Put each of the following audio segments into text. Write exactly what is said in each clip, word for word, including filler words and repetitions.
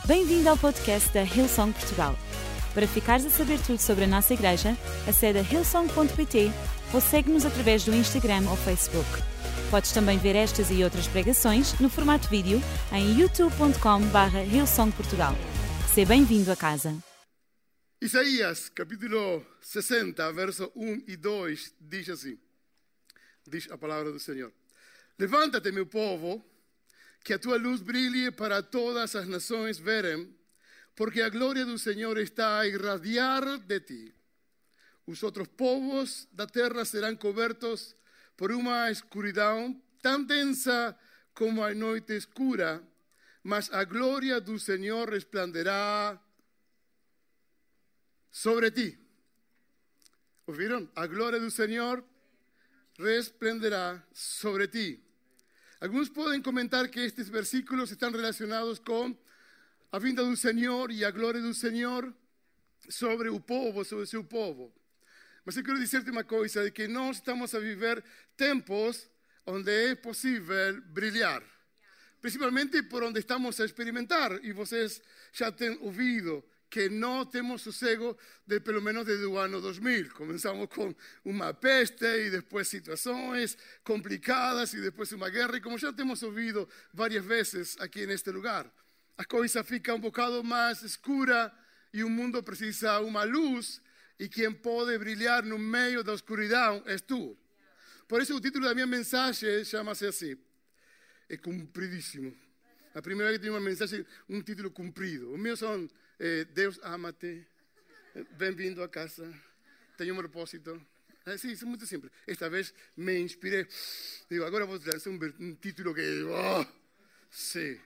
Bem-vindo ao podcast da Hillsong Portugal. Para ficares a saber tudo sobre a nossa igreja, acede a hillsong ponto pt ou segue-nos através do Instagram ou Facebook. Podes também ver estas e outras pregações no formato vídeo em youtube ponto com barra hillsong portugal. Seja bem-vindo a casa. Isaías, capítulo sessenta, verso um e dois, diz assim, diz a palavra do Senhor. Levanta-te, meu povo, que a tua luz brilhe para todas as nações verem, porque a glória do Senhor está a irradiar de ti. Os outros povos da terra serão cobertos por uma escuridão tão densa como a noite escura, mas a glória do Senhor resplandecerá sobre ti. ¿Ouviram? A glória do Senhor resplandecerá sobre ti. Algunos podem comentar que estes versículos están relacionados con a vinda do Senhor e a glória do Senhor sobre o povo, sobre o seu povo. Mas eu quero dizer-te uma coisa, de que nós estamos a viver tempos onde é possível brilhar. Principalmente por onde estamos a experimentar, e vocês já têm ouvido que não temos sossego de pelo menos desde o ano dois mil. Começamos com uma peste e depois situações complicadas e depois uma guerra. E como já temos ouvido várias vezes aqui neste lugar, a coisa fica um bocado mais escura e o mundo precisa uma luz, e quem pode brilhar no meio da escuridão és tu. Por isso o título da minha mensagem chama-se assim, é compridíssimo. A primeira vez que tenho uma mensagem, um título comprido. O meu são eh, Deus ama-te, bem-vindo a casa, tenho um propósito. É, sim, isso é muito simples. Esta vez me inspirei. Digo, agora vou lançar um, um título que, oh, sim,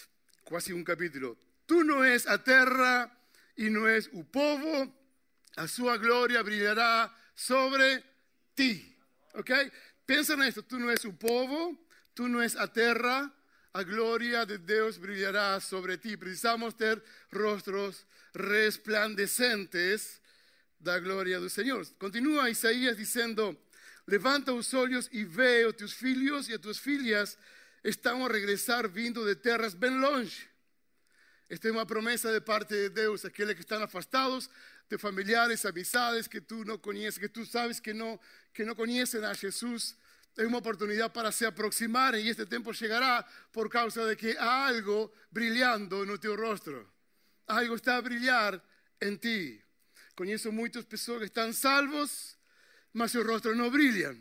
quase um capítulo. Tu não és a terra e não és o povo, a sua glória brilhará sobre ti. Ok? Pensa nisso, tu não és o povo, tu não és a terra, a glória de Deus brilhará sobre ti. Precisamos ter rostros resplandecentes da glória do Senhor. Continua Isaías dizendo, levanta os olhos e vê, os teus filhos e as tuas filhas estão a regressar vindo de terras bem longe. Esta é uma promessa de parte de Deus, aqueles que estão afastados de familiares, amizades que tu não conheces, que tu sabes que não, que não conhecem a Jesus. É uma oportunidade para se aproximarem, e este tempo chegará por causa de que há algo brilhando no teu rosto. Algo está a brilhar em ti. Conheço muitas pessoas que estão salvos, mas seus rostos não brilham.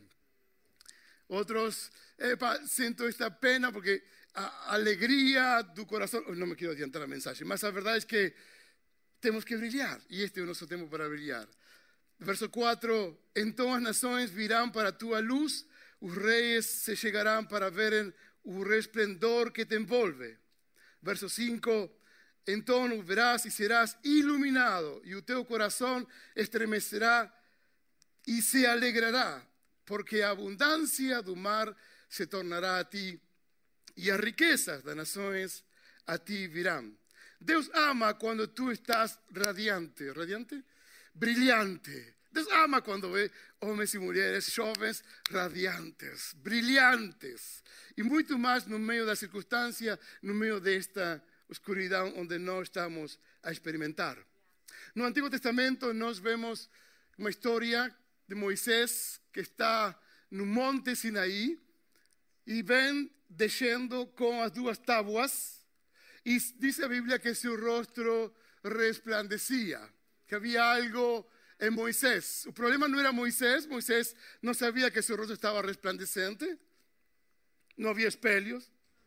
Outros, epa, sinto esta pena porque a alegria do coração... Não me quero adiantar a mensagem, mas a verdade é que temos que brilhar, e este é o nosso tempo para brilhar. Verso quatro, então as nações virão para a tua luz, os reis se chegarão para verem o resplendor que te envolve. Verso cinco, então o verás e serás iluminado, e o teu coração estremecerá e se alegrará, porque a abundância do mar se tornará a ti, e as riquezas das nações a ti virão. Deus ama quando tu estás radiante, radiante? Brilhante. Deus ama quando vê homens e mulheres jovens radiantes, brilhantes. E muito mais no meio da circunstância, no meio desta escuridão onde nós estamos a experimentar. No Antigo Testamento nós vemos uma história de Moisés que está no Monte Sinaí e vem descendo com as duas tábuas, e diz a Bíblia que seu rosto resplandecia, que havia algo em Moisés. O problema não era Moisés, Moisés não sabia que seu rosto estava resplandecente, não havia espelhos.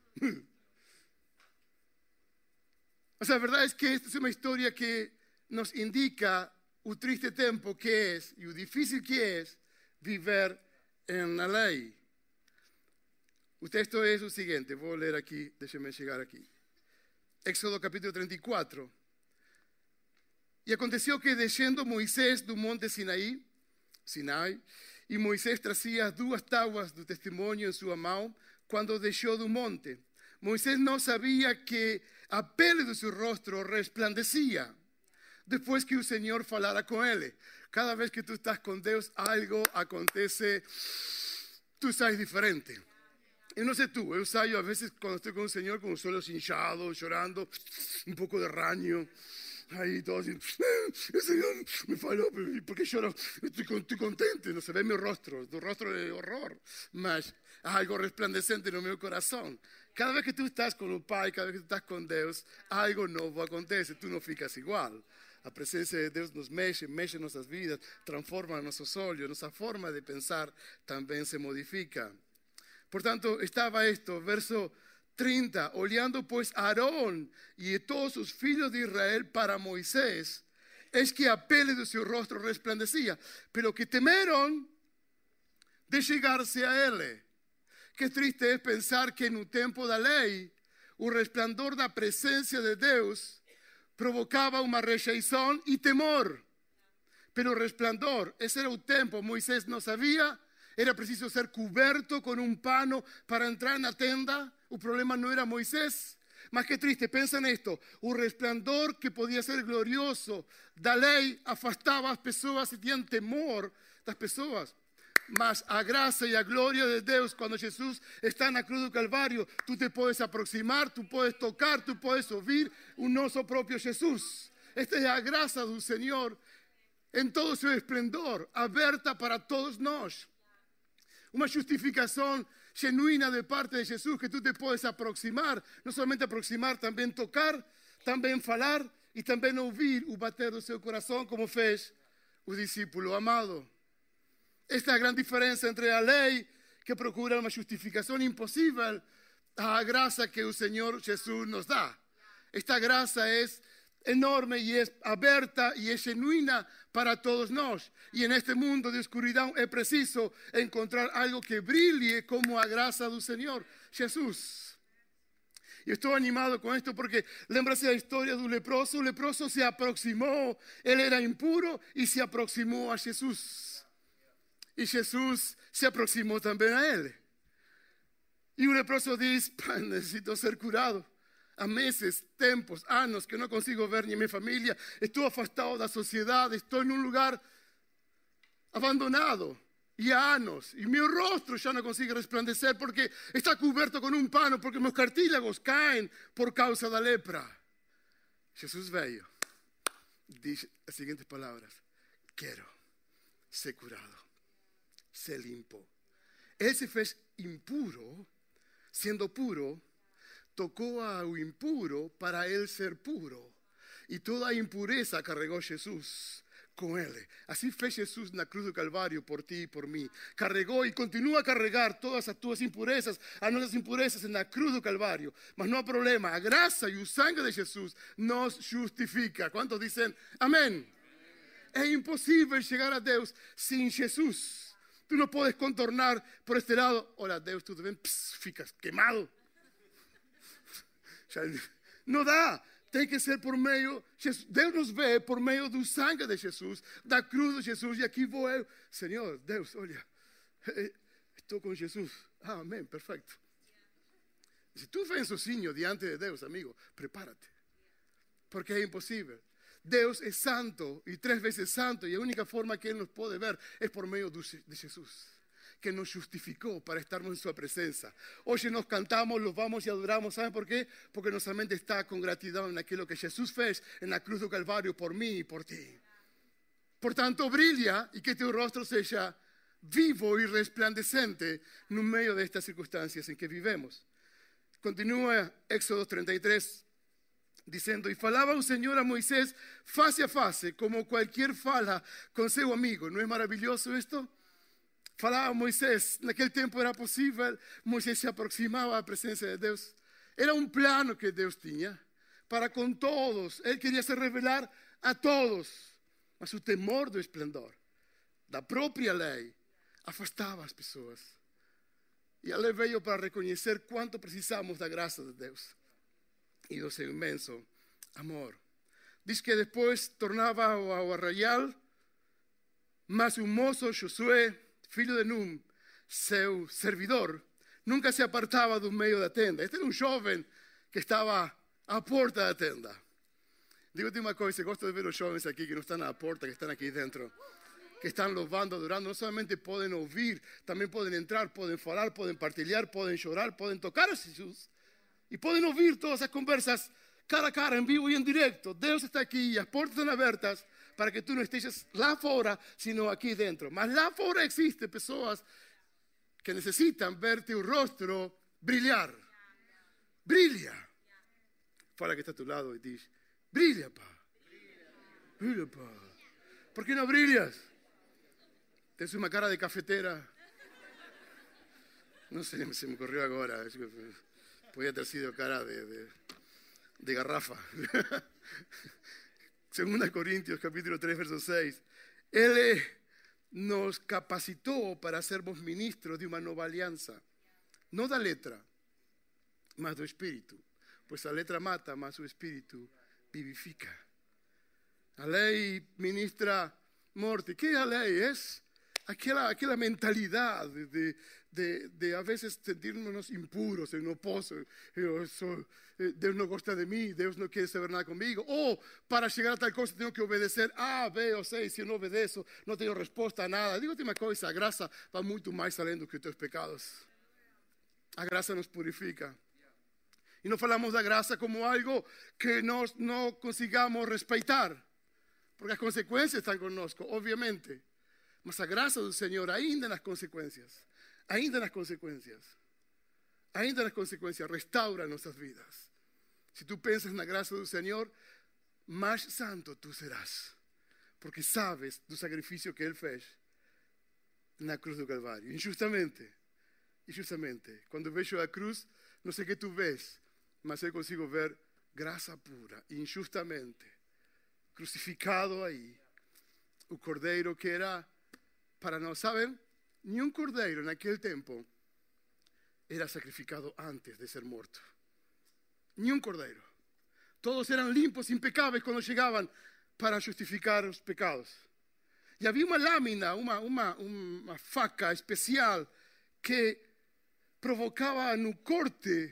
Mas a verdade é que esta é uma história que nos indica o triste tempo que é e o difícil que é viver na lei. O texto é o seguinte, vou ler aqui, deixe-me chegar aqui. Éxodo capítulo trinta e quatro. E aconteceu que descendo Moisés do monte Sinaí, Sinai, e Moisés trazia as duas tábuas do testemunho em sua mão, quando deixou do monte. Moisés não sabia que a pele do seu rosto resplandecia, depois que o Senhor falara com ele. Cada vez que tu estás com Deus, algo acontece, tu sais diferente. Eu não sei tu, eu saio às vezes quando estou com o Senhor com os olhos inchados, chorando, um pouco de ranho. Aí todo assim, o Senhor me falou, por que choro? Estou, estou contente, não se vê meu rosto, o rosto é horror, mas há algo resplandecente no meu coração. Cada vez que tu estás com o Pai, cada vez que tu estás com Deus, algo novo acontece, tu não ficas igual. A presença de Deus nos mexe, mexe nossas vidas, transforma nossos olhos, nossa forma de pensar também se modifica. Portanto, estava esto, verso trinta, olhando pues a Aarón y todos sus filhos de Israel para Moisés, es que a pele de su rostro resplandecía, pero que temeron de chegarse a ele. Que triste es pensar que en un tempo da lei, o resplandor da presencia de Deus provocava uma rejeição e temor. Pero o resplandor, esse era o tempo, Moisés não sabia. Era preciso ser coberto con un pano para entrar na tenda. O problema no era Moisés. Mas que triste, pensa nesto. O resplandor que podía ser glorioso da lei afastaba as pessoas e tinham temor das pessoas. Mas a graça e a glória de Deus, quando Jesus está na cruz do Calvário, tu te podes aproximar, tu podes tocar, tu podes ouvir o nosso próprio Jesus. Esta é a graça do Senhor em todo o seu esplendor, aberta para todos nós. Uma justificação genuína de parte de Jesus, que tu te podes aproximar, não somente aproximar, também tocar, também falar e também ouvir o bater do seu coração, como fez o discípulo amado. Esta é a grande diferença entre a lei, que procura uma justificação impossível, a graça que o Senhor Jesus nos dá. Esta graça é enorme e é aberta e é genuína para todos nós. E neste mundo de escuridão é preciso encontrar algo que brilhe como a graça do Senhor Jesus. E estou animado com isto porque lembra-se da história do leproso. O leproso se aproximou, ele era impuro e se aproximou a Jesus. E Jesus se aproximou também a ele. E o leproso diz: necessito ser curado. Há meses, tempos, anos que não consigo ver nem minha família. Estou afastado da sociedade, estou em um lugar abandonado. E há anos, e meu rosto já não consigo resplandecer porque está coberto com um pano, porque meus cartílagos caem por causa da lepra. Jesus veio, diz as seguintes palavras: quero ser curado, ser limpo. Ele se fez impuro, sendo puro, tocou ao impuro para ele ser puro. E toda a impureza carregou Jesus com ele. Assim fez Jesus na cruz do Calvário por ti e por mim. Carregou e continua a carregar todas as tuas impurezas, as nossas impurezas na cruz do Calvário. Mas não há problema, a graça e o sangue de Jesus nos justifica. Quantos dizem amém? É impossível chegar a Deus sem Jesus. Tu não podes contornar por este lado. Olha, Deus, tudo bem? Pss, ficas queimado. Não dá, tem que ser por meio, Deus nos vê por meio do sangue de Jesus, da cruz de Jesus, e aqui vou eu, Senhor, Deus, olha, estou com Jesus, ah, amém, perfeito. Se tu vens sozinho diante de Deus, amigo, prepárate, porque é impossível. Deus é santo e três vezes santo, e a única forma que Ele nos pode ver é por meio de Jesus, que nos justificou para estarmos en su presencia. Hoy nos cantamos, los vamos y adoramos. ¿Saben por qué? Porque nuestra mente está con gratitud en aquello que Jesús fez en la cruz del Calvario por mí y por ti. Por tanto, brilla y que tu rostro sea vivo y resplandecente en medio de estas circunstancias en que vivimos. Continúa Éxodo treinta y tres diciendo: y falaba un Señor a Moisés face a face, como cualquier fala con su amigo. ¿No es maravilloso esto? Falava Moisés, naquele tempo era possível, Moisés se aproximava à presença de Deus. Era um plano que Deus tinha para com todos. Ele queria se revelar a todos. Mas o temor do esplendor, da própria lei, afastava as pessoas. E a lei veio para reconhecer quanto precisamos da graça de Deus e do seu imenso amor. Diz que depois tornava ao arraial, mas o moço Josué, filho de Num, seu servidor, nunca se apartava do meio da tenda. Este era um jovem que estava à porta da tenda. Digo-te uma coisa, gosto de ver os jovens aqui que não estão à porta, que estão aqui dentro. que están louvando, adorando, no solamente podem ouvir, também podem entrar, podem falar, podem partilhar, podem chorar, podem tocar a Jesus. E podem ouvir todas as conversas cara a cara, em vivo e em direto. Deus está aqui e as portas estão abertas para que tu não estejas lá fora, sino aqui dentro. Mas lá fora existem pessoas que necessitam ver teu rosto brilhar. Brilha. Fala que está a tu lado e diz, brilha, pá. Brilha, pá. ¿Por qué no brillas? Tienes una cara de cafetera. No sé, se me ocurrió ahora. Podría haber sido cara de, de, de garrafa. Segunda Corintios, capítulo tres, verso seis. Él nos capacitó para sermos ministros de una nueva alianza. No da letra, mas do espíritu. Pues la letra mata, mas su espíritu vivifica. A lei ministra morte. Que a lei é aquela, aquela mentalidade de, de, de a vezes sentirnos impuros. Eu não posso, eu sou, Deus não gosta de mim, Deus não quer saber nada comigo. Ou para chegar a tal coisa tenho que obedecer A, B ou C. Se eu não obedeço, não tenho resposta a nada. Digo-te uma coisa, a graça vai muito mais além do que os teus pecados. A graça nos purifica. E não falamos da graça como algo que nós não consigamos respeitar. Porque as consequências estão conosco, obviamente. Mas a graça do Senhor, ainda nas consequências, ainda nas consequências, ainda nas consequências, restaura nossas vidas. Se tu pensas na graça do Senhor, mais santo tu serás. Porque sabes do sacrifício que Ele fez na cruz do Calvário. Injustamente, injustamente. Quando vejo a cruz, não sei o que tu vês, mas eu consigo ver graça pura, injustamente. Crucificado aí, o cordeiro que era para nós, sabem? Nenhum cordeiro naquele tempo era sacrificado antes de ser morto. Nenhum cordeiro. Todos eram limpos, impecáveis quando chegavam para justificar os pecados. E havia uma lâmina, uma, uma, uma faca especial que provocava no corte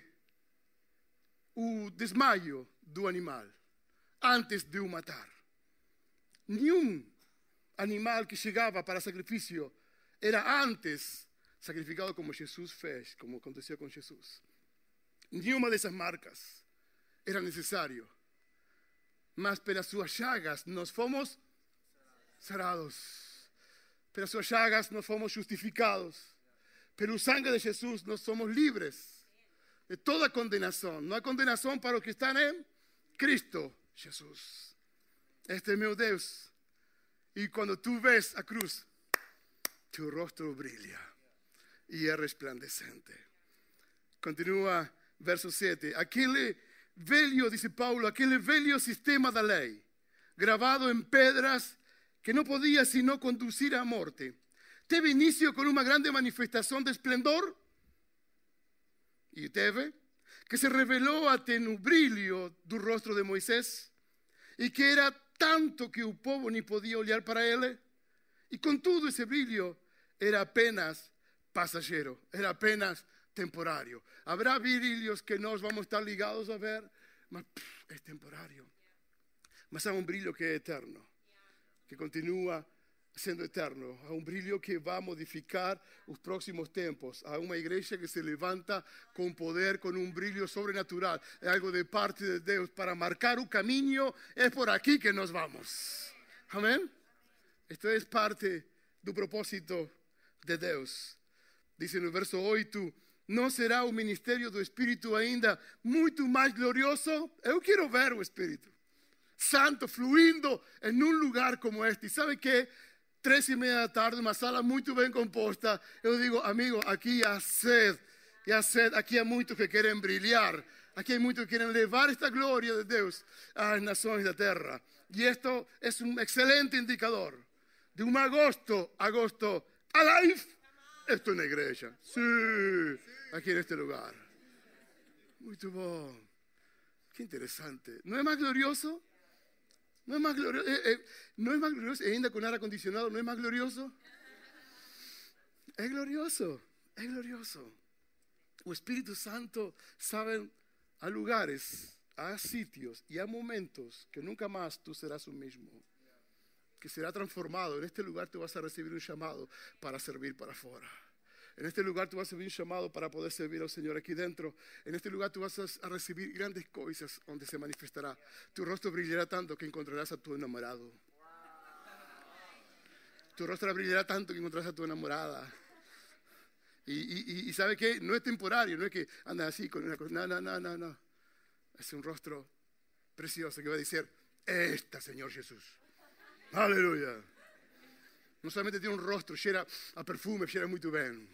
o desmaio do animal antes de o matar. Nenhum animal que chegava para sacrifício era antes sacrificado como Jesus fez, como aconteceu com Jesus. Nenhuma dessas marcas era necessário. Mas pelas suas chagas nós fomos sarados. Pelas suas chagas nós fomos justificados. Pelo sangue de Jesus nós somos livres de toda condenação. Não há condenação para os que estão em Cristo Jesus. Este é meu Deus. E quando tu ves a cruz, teu rosto brilha e é resplandecente. Continua verso sete. Aquele velho, dice Paulo, aquele velho sistema da lei, gravado em pedras, que não podia sino conduzir à morte, teve início com uma grande manifestação de esplendor, e teve, que se revelou até no brilho do rosto de Moisés, e que era tanto que o povo nem podia olhar para ele, e contudo esse brilho era apenas passageiro, era apenas temporário. Habrá brilhos que nós vamos estar ligados a ver, mas pff, é temporário. Mas há um brilho que é eterno, que continua sendo eterno. Há um brilho que vai modificar os próximos tempos. Há uma igreja que se levanta com poder, com um brilho sobrenatural. É algo de parte de Deus para marcar o caminho. É por aqui que nós vamos. Amém? Isto é parte do propósito de Deus. Diz no verso oito, não será o ministério do Espírito ainda muito mais glorioso? Eu quero ver o Espírito Santo fluindo em um lugar como este. E sabe que três e meia da tarde, uma sala muito bem composta, eu digo, amigo, aqui há sede, e há sede, aqui há muitos que querem brilhar, aqui há muitos que querem levar esta glória de Deus às nações da terra. E isto é um excelente indicador de um agosto, agosto alive. Estou na igreja, sim, aqui neste lugar. Muito bom, que interessante. Não é mais glorioso? No es más glorioso, eh, eh, no es más glorioso, ainda con aire acondicionado, no es más glorioso. Es glorioso, es glorioso. O Espíritu Santo, saben, há lugares, há sitios e há momentos que nunca mais tu serás o mesmo. que será transformado. En este lugar tú vas a recibir un llamado para servir para afuera. En este lugar tú vas a recibir un llamado para poder servir al Señor aquí dentro. En este lugar tú vas a recibir grandes cosas donde se manifestará. Tu rostro brillará tanto que encontrarás a tu enamorado. Tu rostro brillará tanto que encontrarás a tu enamorada. Y, y, y ¿sabe qué? No es temporario, no es que andas así con una cosa. No, no, no, no, no. Es un rostro precioso que va a decir, esta, Señor Jesús. Aleluya. No solamente tiene un rostro, llena a perfume, llena muy bien.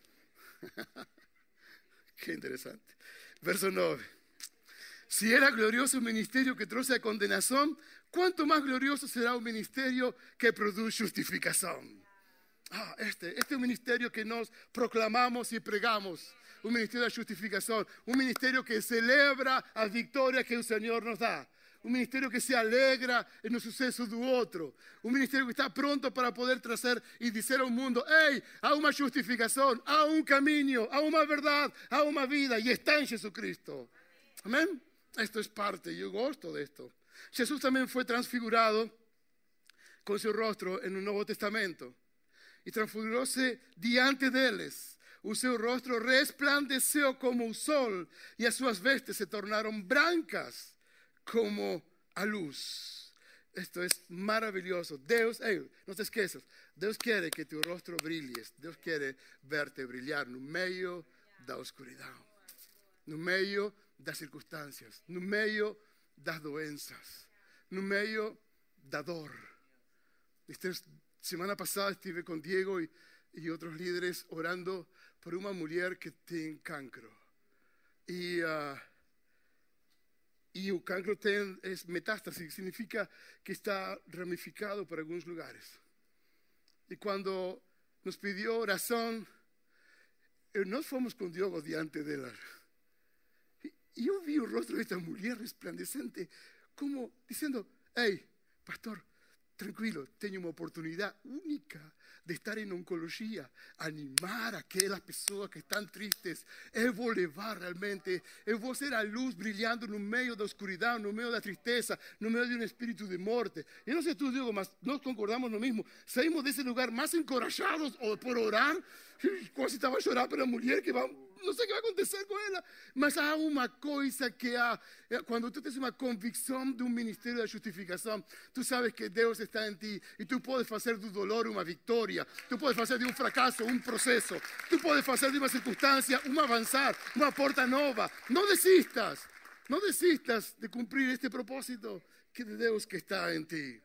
Qué interesante. Verso nueve. Si era glorioso un ministerio que trouxe a condenación, ¿cuánto más glorioso será un ministerio que produce justificación? Ah, este, este es un ministerio que nos proclamamos y pregamos. Un ministerio de justificación. Un ministerio que celebra a victoria que el Señor nos da. Un ministerio que se alegra en los sucesos do outro. Un ministerio que está pronto para poder trazer e dizer ao mundo, hey, há uma justificação, há um caminho, há uma verdade, há uma vida e está em Jesucristo. Amém? Esto es parte, yo gosto de esto. Jesús también fue transfigurado con su rostro en el Nuevo Testamento. Y transfiguróse diante deles. O seu rostro resplandeceu como o sol e as suas vestes se tornaram brancas como a luz. Esto es maravilloso. Deus, hey, no te esqueças, Deus quiere que tu rostro brilhes. Deus quiere verte brilhar no meio da oscuridão, no meio das circunstâncias, no meio das doenças, no meio da dor. Esta semana pasada estive com Diego e, e outros líderes orando por uma mulher que tem cancro. E, uh, e o cancro tem é metástase, significa que está ramificado por alguns lugares. E quando nos pediu oração, nós fomos com Diego diante dela. E eu vi o rosto desta mulher resplandecente, como dizendo, hey, pastor, tranquilo, tenho uma oportunidade única de estar em oncologia, animar aquelas pessoas que estão tristes. Eu vou levar realmente, eu vou ser a luz brilhando no meio da escuridão, no meio da tristeza, no meio de um espírito de morte. Eu não sei tu, Diego, mas nós concordamos no mesmo. Saímos desse lugar mais encorajados por orar, quase estava a chorar pela mulher que vai... Não sei o que vai acontecer com ela, mas há uma coisa que há, quando tu tens uma convicção de um ministério da justificação, tu sabes que Deus está em ti e tu podes fazer do dolor uma vitória, tu podes fazer de um fracasso um processo, tu podes fazer de uma circunstância um avançar, uma porta nova. Não desistas, não desistas de cumprir este propósito que de Deus que está em ti.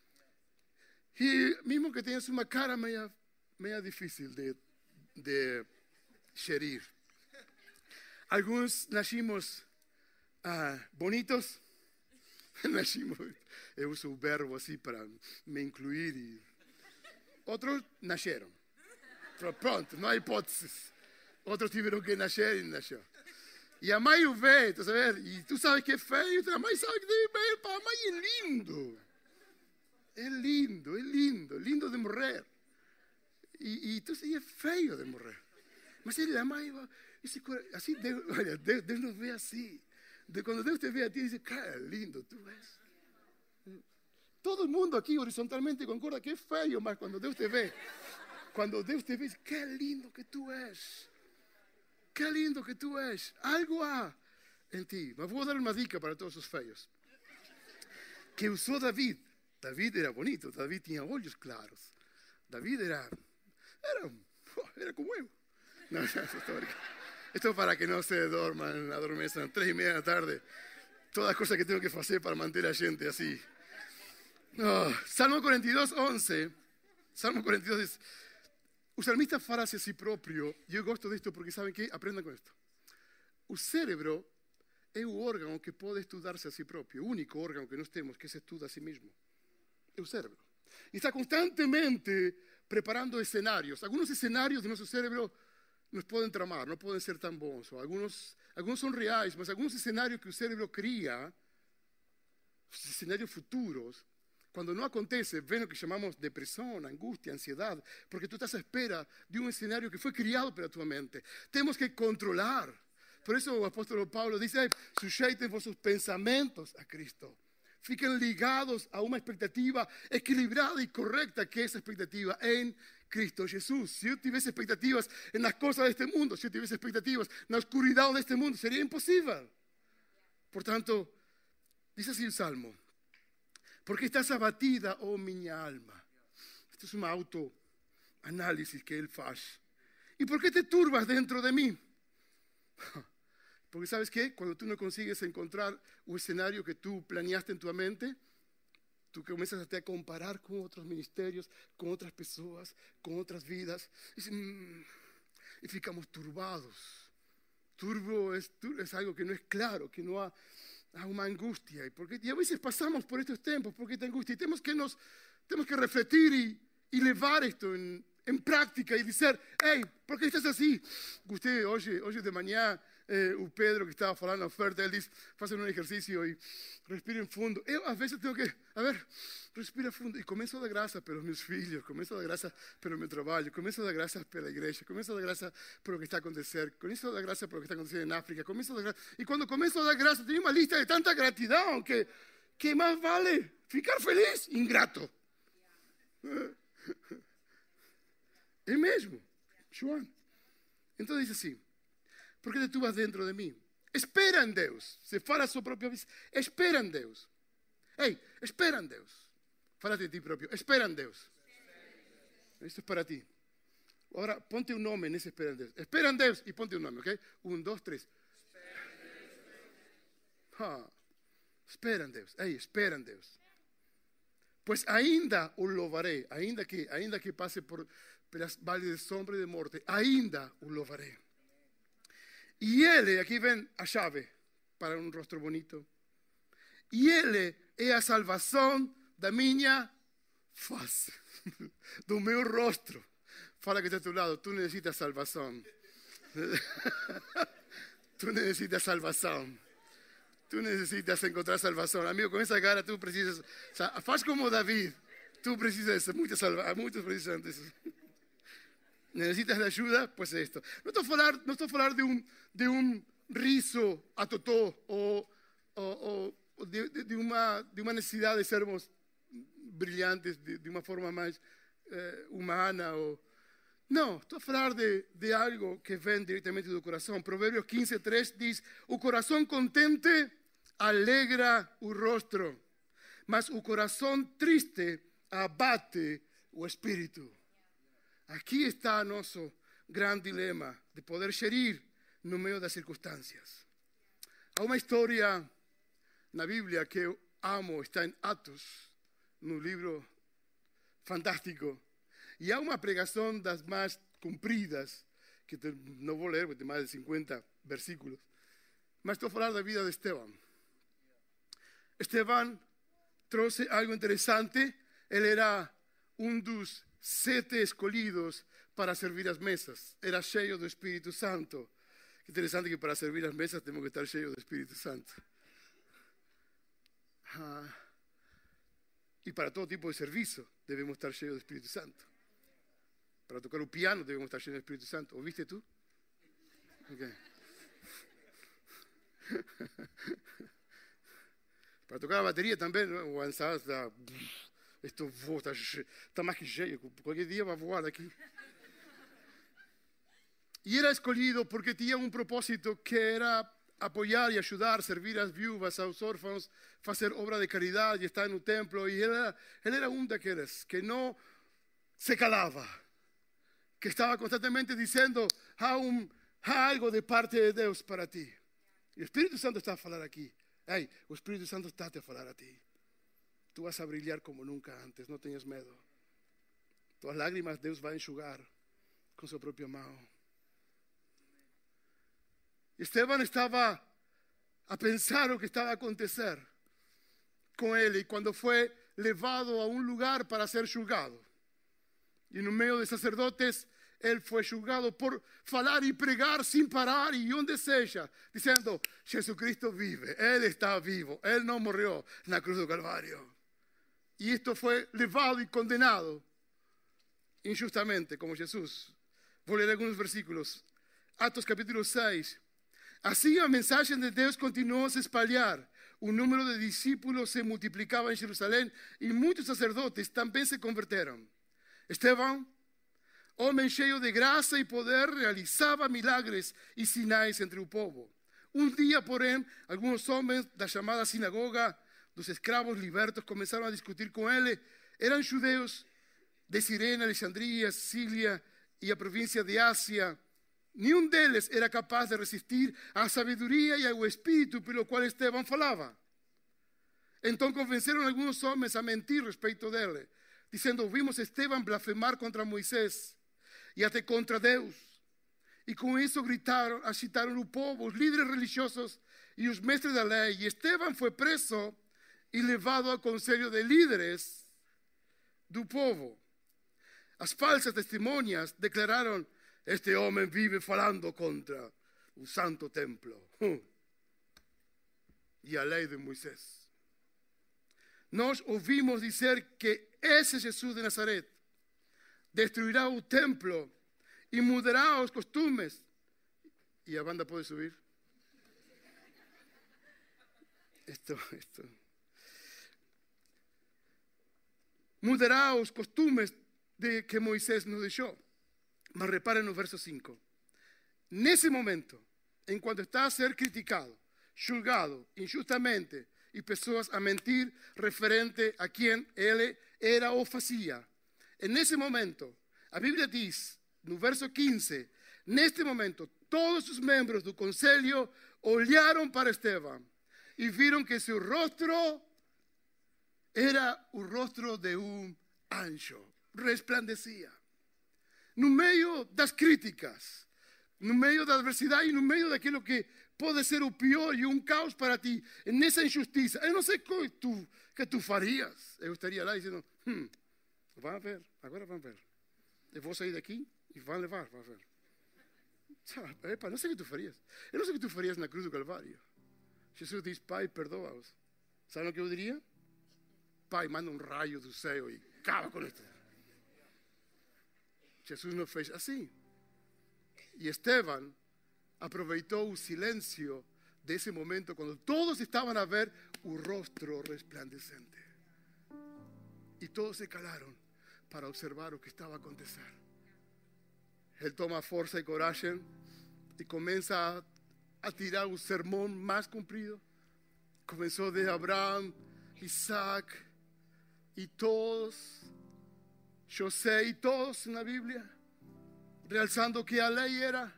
E mesmo que tenhas uma cara meia, meia difícil de, de gerir. Alguns nascimos ah, bonitos, nascimos, eu uso o verbo assim para me incluir, e outros nasceram. Pronto, não há hipóteses. Outros tiveram que nascer e nasceu. E a mãe o vê, tu sabes? E tu sabes que é feio, a mãe sabe que deve ver, para a mãe é lindo. É lindo, é lindo, é lindo de morrer. E, e tu sabes, é feio de morrer. Mas ele, a mãe va... Esse, assim, Deus, olha, Deus, Deus nos vê assim. De, quando Deus te vê a ti, diz, cara, lindo tu és. Todo mundo aqui horizontalmente concorda que é feio, mas quando Deus te vê, quando Deus te vê, diz, que lindo que tu és. Que lindo que tu és. Algo há em ti. Mas vou dar uma dica para todos os feios. Que usou David. David era bonito, David tinha olhos claros. David era, era, era como eu. No, esto, esto para que no se dorman, adormezan, tres y media de la tarde. Todas las cosas que tengo que hacer para mantener a la gente así. Oh, Salmo cuarenta y dos, once. Salmo cuarenta y dos dice, o salmista fala a si propio. Yo gosto de esto porque saben que aprendan con esto. O cérebro é o órgano que pode estudarse a si propio. O único órgano que nós temos que se estuda a si mismo. É o cérebro. E está constantemente preparando escenarios. Algunos escenarios de nuestro cerebro nos pueden tramar, no pueden ser tan bons. Algunos, algunos son reales, mas algunos escenarios que el cerebro cría, escenarios futuros, cuando no acontece, ven lo que llamamos depresión, angustia, ansiedad, porque tú estás a espera de un escenario que fue criado para tu mente. Tenemos que controlar. Por eso el apóstol Pablo dice, sujeiten vuestros pensamientos a Cristo. fiquen ligados a una expectativa equilibrada y correcta, que es expectativa en Cristo Jesús. Si yo tuviese expectativas en las cosas de este mundo, si yo tuviese expectativas en la oscuridad de este mundo, sería imposible. Por tanto, dice así el Salmo: ¿por qué estás abatida, oh mi alma? Esto es un autoanálisis que él hace. ¿Y por qué te turbas dentro de mí? Porque ¿sabes qué? Cuando tú no consigues encontrar un escenario que tú planeaste en tu mente, tú comienzas a comparar con otros ministerios, con otras personas, con otras vidas, y, mmm, y ficamos turbados. Turbo es, es algo que no es claro, que no ha, ha una angustia. Y, porque, y a veces pasamos por estos tiempos, porque esta angustia, y tenemos que, nos, tenemos que refletir y, y llevar esto en, en práctica y decir: hey, ¿por qué estás así? Usted, hoy, hoy de mañana, eh, o Pedro que estaba falando na oferta, ele disse: façam um exercício e respirem fundo. Eu, às vezes, tenho que, a ver, respira fundo. E começo a dar graça pelos meus filhos, começo a dar graça pelo meu trabalho, começo a dar graça pela igreja, começo a dar graça pelo que está acontecendo, começo a dar graça pelo que está acontecendo em África, começo a dar graça. E quando começo a dar graça, tenho uma lista de tanta gratidão que, que mais vale ficar feliz, ingrato. É mesmo, João. Então diz assim: por que tu vas dentro de mim? Espera em Deus. Se fala a sua própria vida, espera em Deus. Ei, espera em Deus. Fala de ti próprio, espera em Deus. Isto é para ti. Agora, ponte um nome nesse espera em Deus. Espera em Deus e ponte um nome, ok? Um, dois, três. Ah, espera em Deus. Ei, espera em Deus. Pois ainda o louvarei, ainda que, ainda que passe por pelas vales de sombra e de morte, ainda o louvarei. E Ele, aqui vem a chave para um rosto bonito. E Ele é a salvação da minha face, do meu rosto. Fala que está a teu lado, tu necessitas salvação. Tu necessitas salvação. Tu necessitas encontrar salvação. Amigo, com essa cara tu precisas. O sea, faz como David. Tu precisas de muita salvação. Muitos precisam disso. Necesitas de ayuda, pues esto. No estoy hablando, no estoy hablando de un, de un rizo a totó o, o, o de, de, de, una, de una necesidad de sermos brillantes de, de una forma más eh, humana. O, no, estoy hablando de, de algo que ven directamente del corazón. Proverbios quince, tres dice: o corazón contente alegra o rostro, mas o corazón triste abate o espíritu. Aquí está nuestro gran dilema de poder gerir no medio das circunstancias. Há uma história na Bíblia que eu amo, está em Atos, no livro fantástico. E há uma pregação das mais compridas, que não vou ler, porque tem mais de cinquenta versículos, mas estou a falar da vida de Estevão. Estevão trouxe algo interessante. Ele era um dos sete escolhidos para servir as mesas. Era cheio do Espírito Santo. Que interessante que para servir as mesas temos que estar cheios do Espírito Santo. Ah, e para todo tipo de serviço devemos estar cheios do Espírito Santo. Para tocar o piano devemos estar cheios do Espírito Santo. ¿Ouviste tú? Okay. Para tocar a bateria também, o avançado está... Esto está, está más que cheio, cualquier día va a voar aquí. Y era escolhido porque tenía un propósito que era apoyar y ayudar, servir a las viúvas, a los órfanos, hacer obra de caridad y estar en un templo. Y él era, él era un de aquellos que no se calaba, que estaba constantemente diciendo: há, um, há algo de parte de Dios para ti. Y el Espíritu Santo está a falar aquí. Hey, el Espíritu Santo está a falar a ti. Tú vas a brillar como nunca antes, no tenhas medo. Tuas lágrimas Deus vai enxugar com sua própria mão. Estevão estava a pensar o que estava a acontecer com ele, e quando foi levado a um lugar para ser julgado, e no meio de sacerdotes, ele foi julgado por falar e pregar sem parar e onde seja, dizendo: Jesucristo vive, Ele está vivo, Ele não morreu na cruz do Calvário. Y esto fue levado y condenado injustamente, como Jesús. Voy a leer algunos versículos. Atos capítulo seis. Así la mensaje de Dios continuó a se espalhar. un número de discípulos se multiplicaba en Jerusalén y muchos sacerdotes también se convirtieron. Esteban, homem cheio de graça e poder, realizava milagres e sinais entre o povo. Um dia, porém, alguns homens da chamada sinagoga dos escravos libertos começaram a discutir com ele. Eram judeus de Cirene, Alexandria, Sicília e a província de Ásia. Nenhum deles era capaz de resistir à sabedoria e ao espírito pelo qual Esteban falava. Então convenceram alguns homens a mentir respeito dele, dizendo: ouvimos Esteban blasfemar contra Moisés e até contra Deus. E com isso gritaram, agitaram o povo, os líderes religiosos e os mestres da lei. E Esteban foi preso e levado ao conselho de líderes do povo. As falsas testemunhas declararam: este homem vive falando contra o santo templo e a lei de Moisés. Nós ouvimos dizer que esse Jesus de Nazaret destruirá o templo e mudará os costumes. E a banda pode subir? Esto, esto. Mudará os costumes de que Moisés nos deixou. Mas reparen no verso cinco. Nesse momento, enquanto está a ser criticado, julgado injustamente e pessoas a mentir referente a quem ele era ou fazia. Nesse momento, a Bíblia diz, no verso quinze, neste momento, todos os membros do conselho olharam para Esteban e viram que seu rosto era o rosto de um anjo, resplandecia. No meio das críticas, no meio da adversidade e no meio daquilo que pode ser o pior e um caos para ti, nessa injustiça. Eu não sei o que tu, que tu farias. Eu estaria lá dizendo, hum, vão ver, agora vão ver. Eu vou sair daqui e vão levar, vão ver. Sabe, epa, não sei o que tu farias. Eu não sei o que tu farias na cruz do Calvário. Jesus diz, Pai, perdoa-os. Sabe o que eu diria? Pai, manda um raio do céu e acaba com isso. Jesus não fez assim. E Esteban aproveitou o silêncio desse momento, quando todos estavam a ver o rosto resplandecente. E todos se calaram para observar o que estava a acontecer. Ele toma força e coragem e começa a, a tirar o sermão mais comprido. Começou de Abraão, Isaac e todos, José e todos na Bíblia, realçando que a lei era,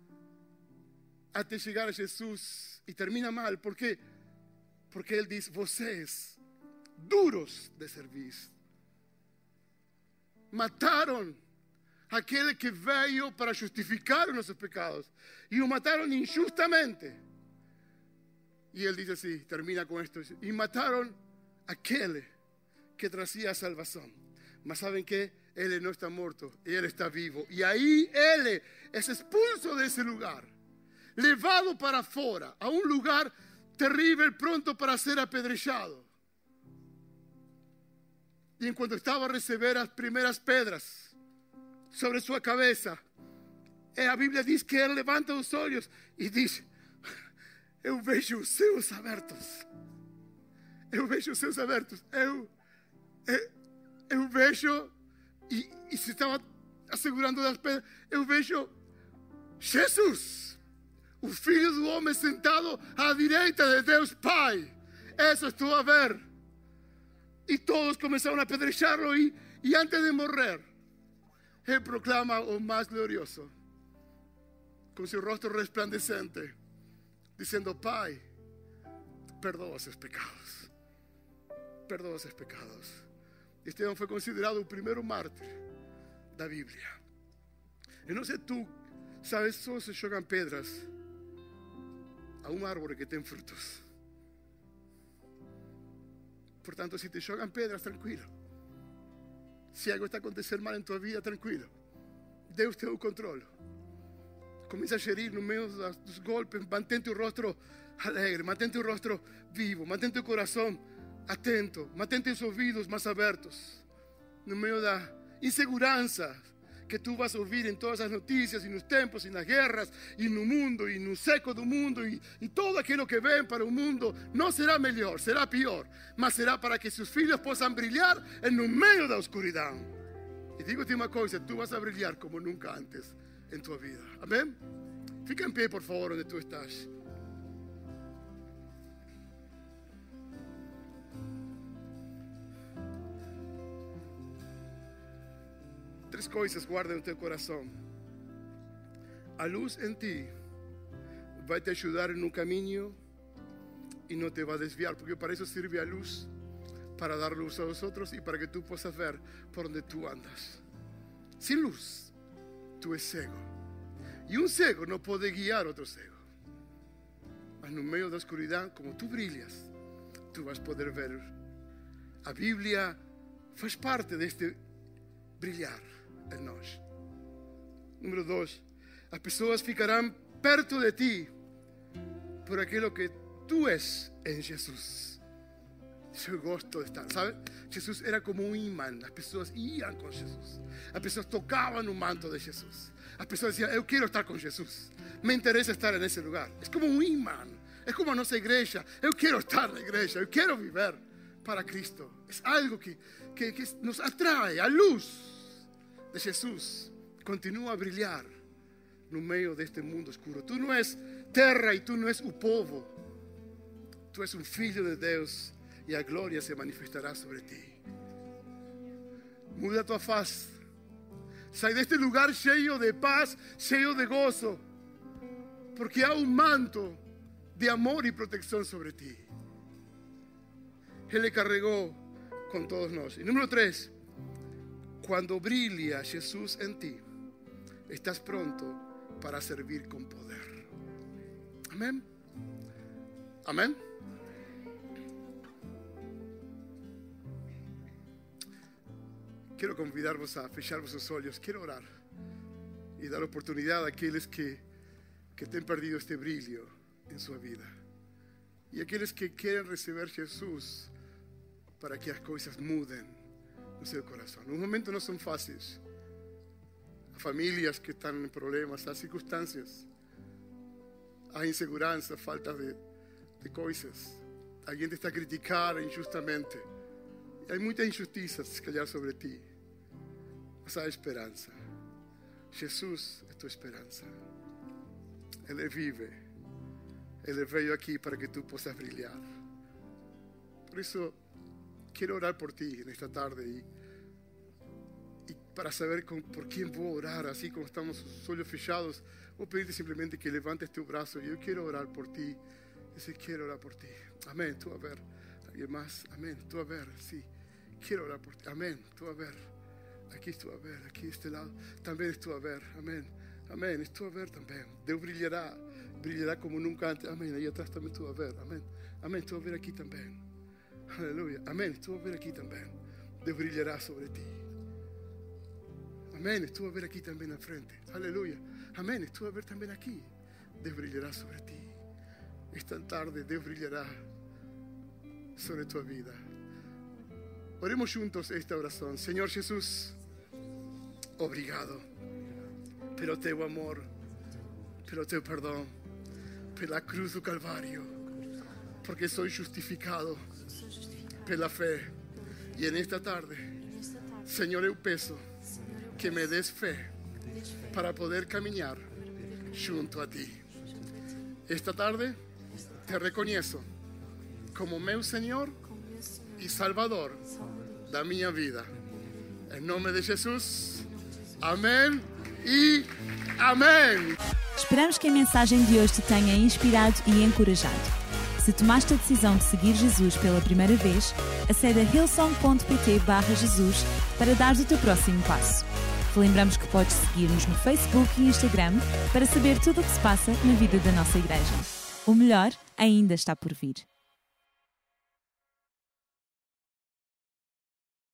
até chegar a Jesus. E termina mal, por quê? Porque ele diz, vocês, duros de serviço, mataram aquele que veio para justificar os nossos pecados e o mataram injustamente. E ele diz assim, termina com isto, e mataram aquele que trazia a salvação. Mas sabem que ele não está morto, ele está vivo. E aí ele é expulso desse lugar, levado para fora, a um lugar terrível, pronto para ser apedrejado. E enquanto estava a receber as primeiras pedras sobre sua cabeça, a Bíblia diz que ele levanta os olhos e diz, eu vejo os céus abertos. Eu vejo os céus abertos. Eu, eu, eu vejo, e, e se estava assegurando das pedras, eu vejo Jesus, o Filho do Homem sentado à direita de Deus Pai. Isso estou a ver. E todos começaram a apedrejarlo e, e antes de morrer, ele proclama o mais glorioso, com seu rosto resplandecente, dizendo, Pai, perdoa os seus pecados. Perdoa os seus pecados. Esteban foi considerado o primeiro mártir da Bíblia. Eu não sei tu, sabes, só se jogam pedras a uma árvore que tem frutos. Portanto, se te jogam pedras, tranquilo. Se algo está a acontecer mal em tua vida, tranquilo. Deus tem o controle. Começa a gerir no meio dos golpes. Mantente o rosto alegre, mantente o rosto vivo, mantente o coração atento, mantente os ouvidos mais abertos. No meio da insegurança que tu vas ouvir em todas as notícias, e nos tempos, e nas guerras, e no mundo, e no seco do mundo, e, e todo aquilo que vem para o mundo, não será melhor, será pior, mas será para que seus filhos possam brilhar no meio da escuridão. E digo-te uma coisa, tu vas a brilhar como nunca antes em tua vida. Amém? Fica em pé, por favor, onde tu estás. Três coisas guarda no teu coração. A luz em ti vai te ajudar no caminho e não te vai desviar, porque para isso serve a luz, para dar luz a los outros e para que tu possas ver por onde tu andas. Sem luz, tu és cego. E um cego não pode guiar outro cego. Mas no meio da escuridão, como tu brilhas, tu vas poder ver. A Bíblia faz parte deste brilhar em nós. Número dois, as pessoas ficarão perto de ti por aquilo que tu és em Jesus. Eu gosto de estar, sabe? Jesus era como um imã. As pessoas iam com Jesus. As pessoas tocavam no manto de Jesus. As pessoas diziam, eu quero estar com Jesus. Me interessa estar nesse lugar. É como um imã. É como a nossa igreja. Eu quero estar na igreja. Eu quero viver para Cristo. É algo que, que, que nos atrai. A luz de Jesus continua a brilhar no meio deste mundo escuro. Tu não és terra e tu não és o povo. Tu és um filho de Deus e a glória se manifestará sobre ti. Muda tua face. Sai deste lugar cheio de paz, cheio de gozo, porque há um manto de amor e proteção sobre ti. Ele carregou com todos nós. E número três, quando brilha Jesus em ti, estás pronto para servir com poder. Amém? Amém? Quero convidar-vos a fechar vossos olhos. Quero orar e dar oportunidade àqueles que, que têm perdido este brilho em sua vida. E àqueles que querem receber Jesus para que as coisas mudem no seu coração. Os momentos não são fáceis. Há famílias que estão em problemas, há circunstâncias, há insegurança, falta de, de coisas. Alguém te está a criticar injustamente. Há muita injustiça, se calhar, sobre ti. Mas há esperança. Jesus é tua esperança. Ele vive. Ele veio aqui para que tu possas brilhar. Por isso, quero orar por ti nesta tarde. E, e para saber com, por quem vou orar, assim como estamos os olhos fechados, vou pedir-te simplesmente que levantes teu braço. E eu quero orar por ti. Eu quero orar por ti. Amém. Tu a ver. Alguém mais? Amém. Tu a ver. Sim. Quiero orar por ti. Amén. Tú a ver. Aquí estou a ver. Aquí este lado. También estou a ver. Amén. Amén. Estou a ver también. Deus brilhará. Brilhará como nunca antes. Amén. Ahí atrás también estou a ver. Amén. Amén. Estou a ver aquí también. Aleluya. Amén. Estou a ver aquí también. Deus brilhará sobre ti. Amén. Estou a ver aquí también al frente. Aleluya. Amén. Estou a ver también aquí. Deus brilhará sobre ti. Esta tarde Deus brilhará sobre tu vida. Oremos juntos esta oração. Senhor Jesus, obrigado pelo teu amor, pelo teu perdão, pela cruz do Calvário, porque sou justificado pela fé. E nesta tarde, Senhor, eu peço que me des fé para poder caminhar junto a ti. Esta tarde te reconheço como meu Senhor e Salvador da minha vida. Em nome de Jesus. Amém e amém. Esperamos que a mensagem de hoje te tenha inspirado e encorajado. Se tomaste a decisão de seguir Jesus pela primeira vez, acede a hillsong ponto pt barra Jesus para dar o teu próximo passo. Te lembramos que podes seguir-nos no Facebook e Instagram para saber tudo o que se passa na vida da nossa igreja. O melhor ainda está por vir.